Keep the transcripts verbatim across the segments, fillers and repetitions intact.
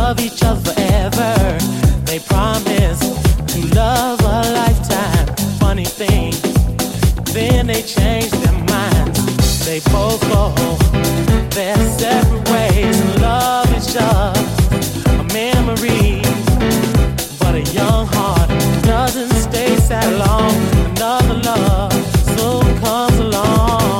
love each other forever. They promise to love a lifetime. Funny thing, then they change their minds. They both go their separate ways and love each other. A memory, but a young heart doesn't stay sad long. Another love soon comes along.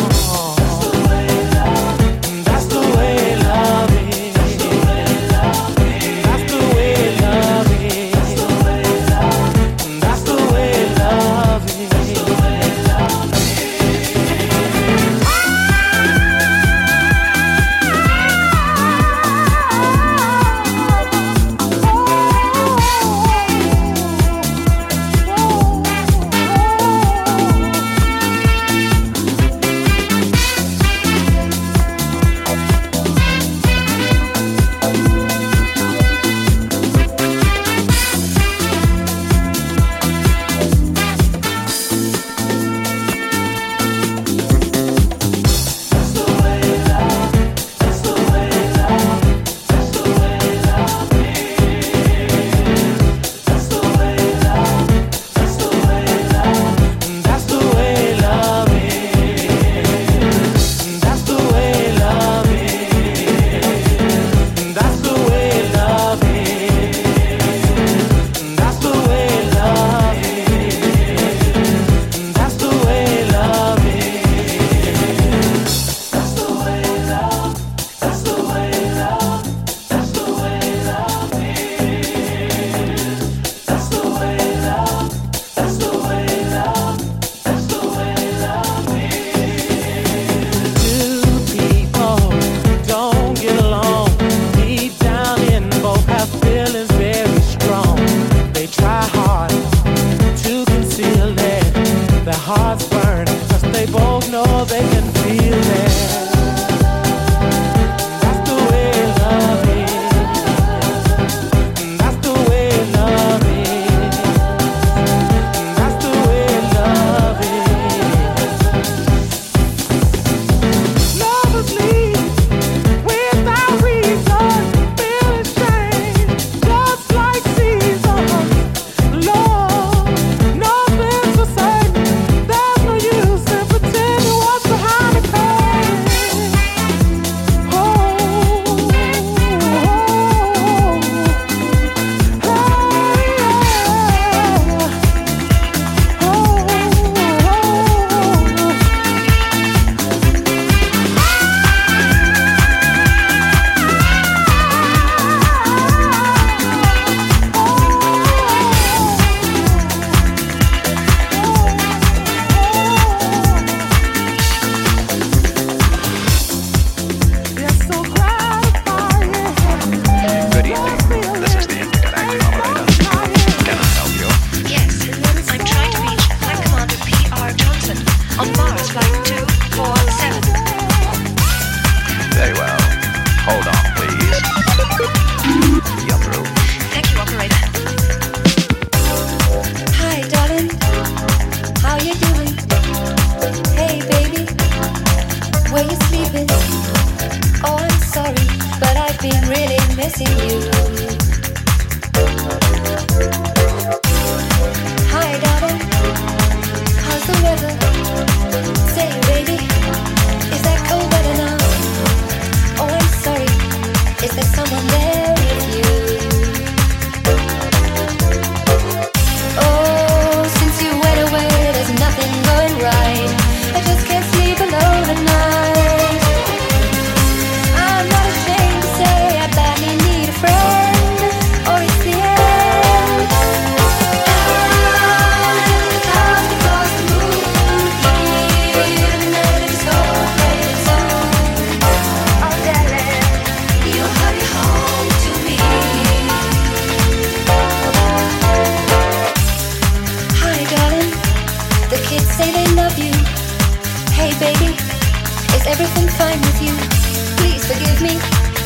everything fine with you? Please forgive me,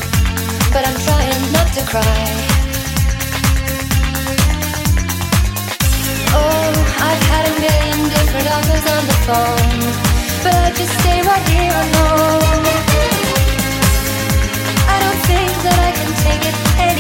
but I'm trying not to cry. Oh, I've had a million different offers on the phone, but I just stay right here alone. I don't think that I can take it anymore.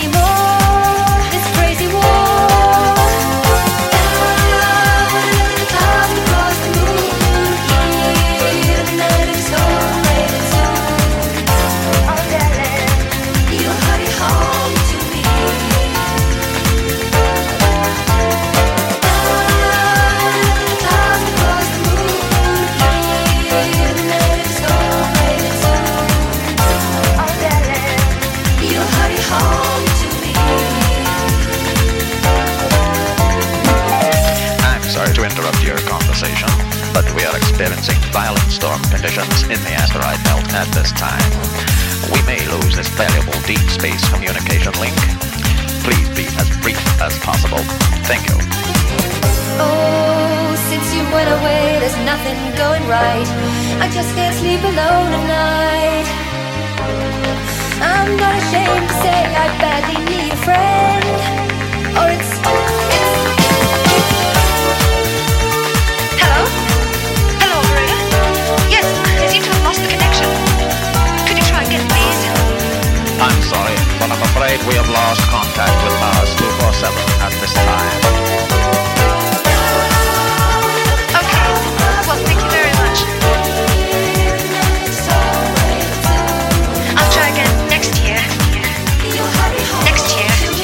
experiencing violent storm conditions in the asteroid belt at this time. We may lose this valuable deep space communication link. Please be as brief as possible. Thank you. Oh, since you went away, there's nothing going right. I just can't sleep alone at night. I'm not ashamed to say I badly need a friend. Or it's, it's... Hello? Hello, operator? Yes, I seem to have lost the connection. Could you try again, please? I'm sorry, but I'm afraid we have lost contact with Mars two forty-seven at this time. Okay, well, thank you very much. I'll try again next year. Next year.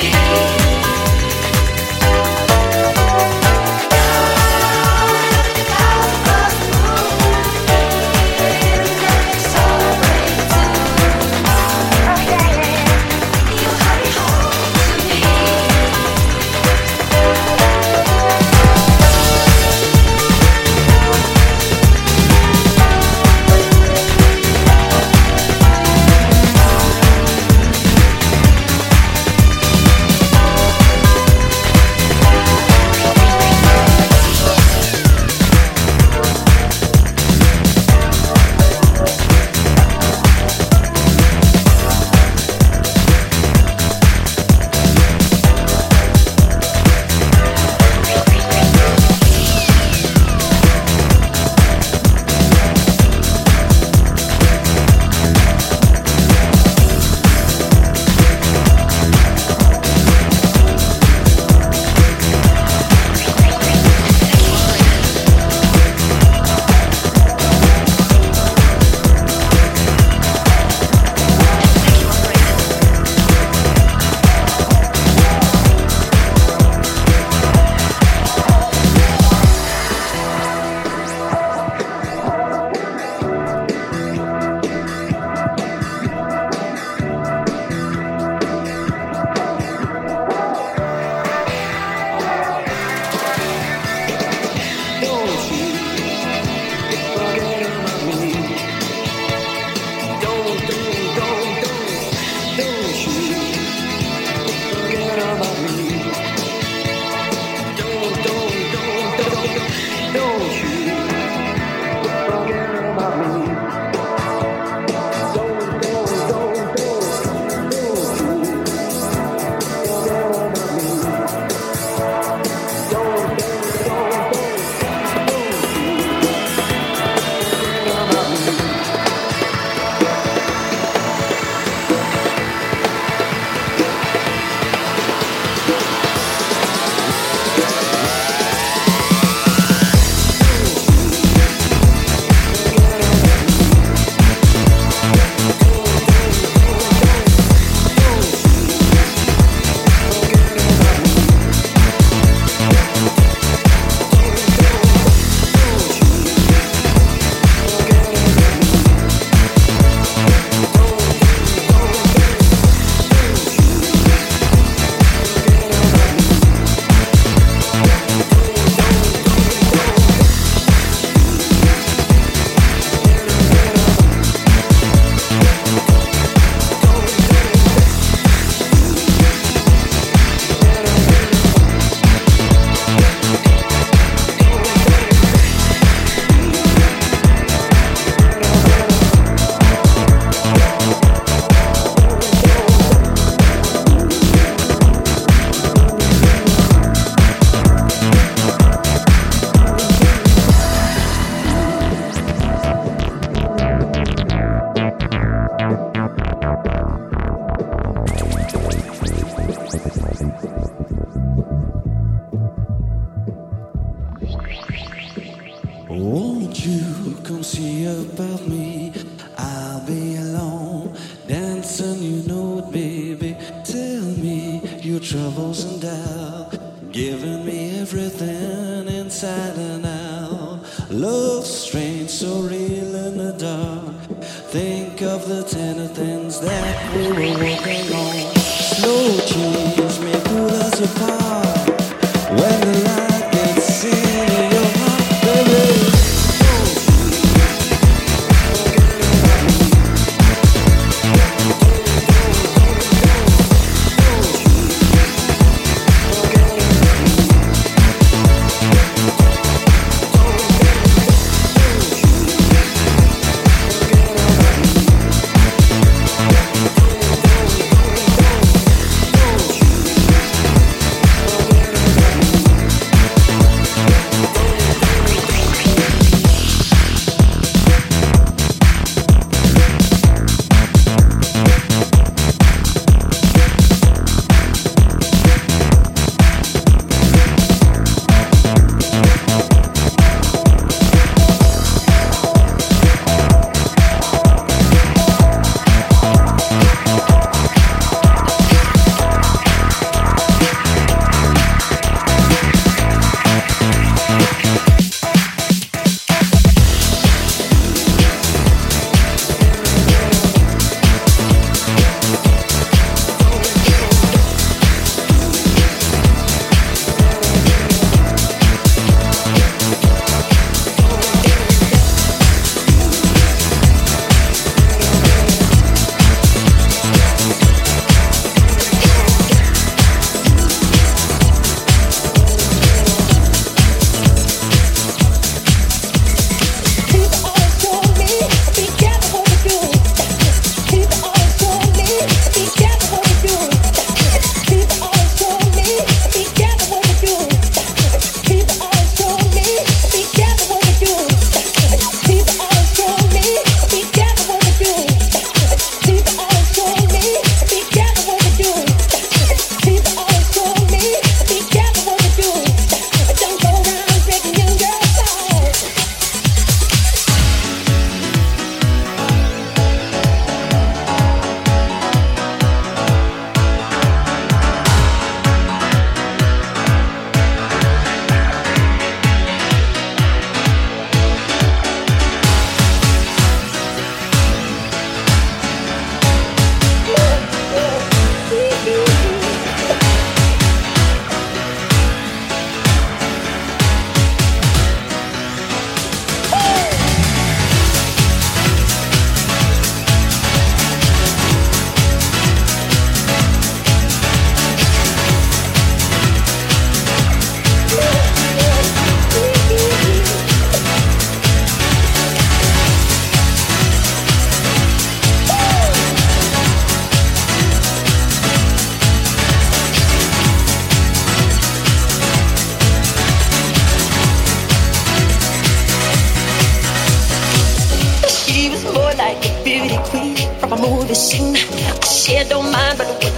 Won't you come see about me? I'll be alone, dancing, you know it, baby. Tell me your troubles and doubt, giving me everything inside and out. Love strange, so real in the dark. Think of the tender things that we were working on. Slow change may pull us apart when the light gets in your heart, baby.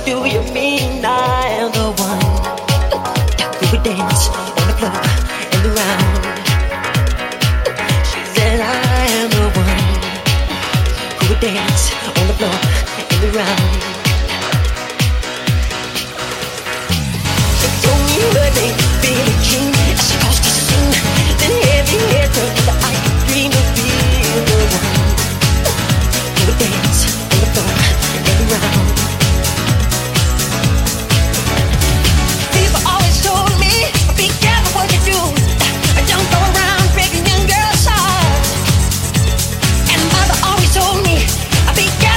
do you mean I am the one who would dance on the floor and around? She said I am the one who would dance on the floor and around. She told me her name, Billie Jean, as she caused to sing. Then heavy hair turned that I could dream of being the one who would dance on the floor and around. People always told me, be careful what you do. Don't go around breaking young girls' hearts. And mother always told me, be careful.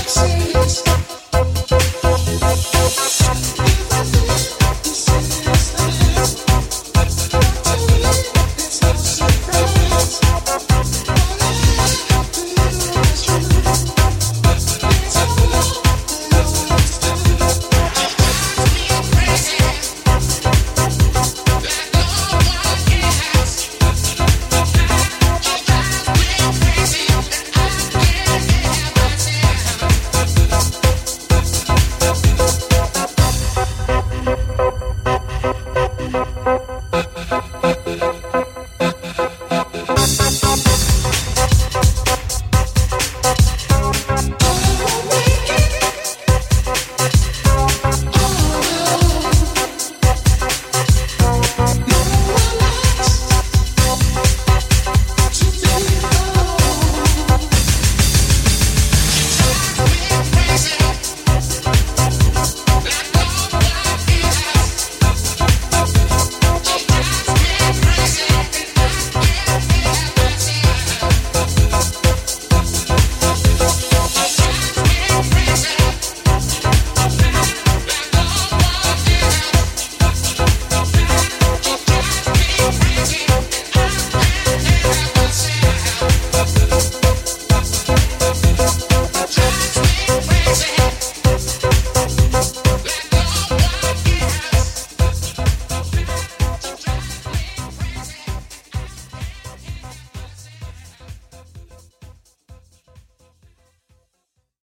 Say